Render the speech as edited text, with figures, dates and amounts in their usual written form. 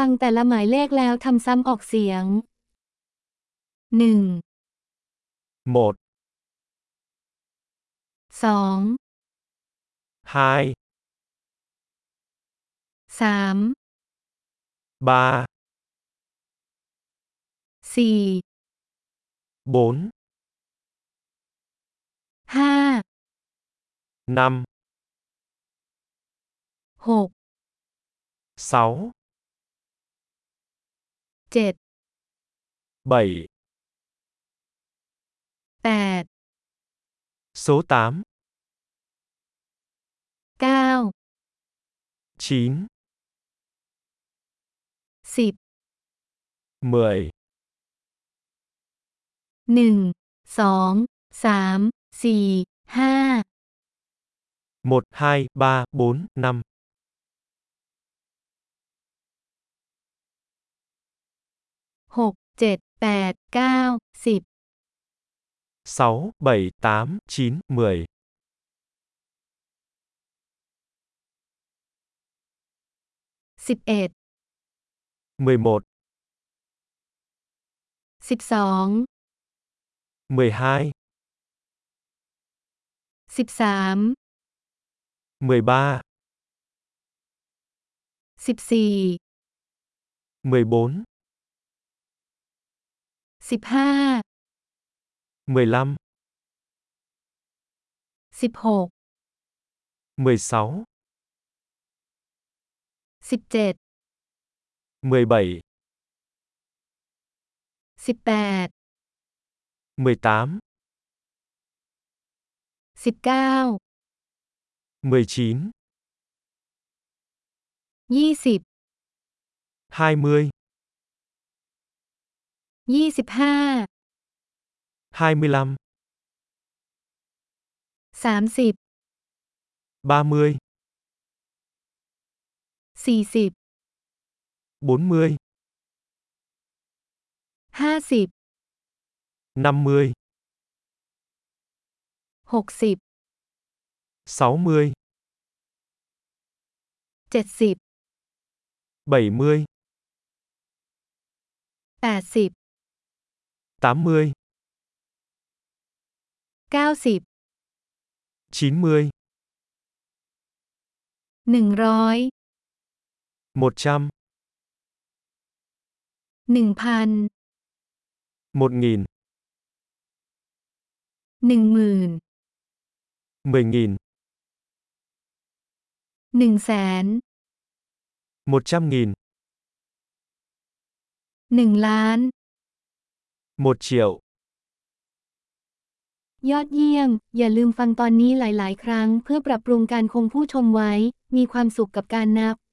งแต่ละหมายเลขแล้วทำซ้ำออกเสียง 1 1 2 2 3 3 4 4 5 5 6 6 7 7 8 số 8 9 9 10 10 1 2 3 4 5 1 2 3 4 5 6 7 8 9 10 6 7 8 9 10 11 11 12 12 13 13 14 14 15 15 16 16 17 17 18 18 19 19 20 20 25 25 30 30 40 40 50 50 60 60 70 70 80 80 90 90 100 100 1,000 1000 10,000 10.000 100,000 100.000 1 ล้าน 1 triệu ยอดเยี่ยม อย่าลืมฟังตอนนี้หลาย ๆ ครั้งเพื่อปรับปรุงการคงผู้ชมไว้ มีความสุขกับการนับ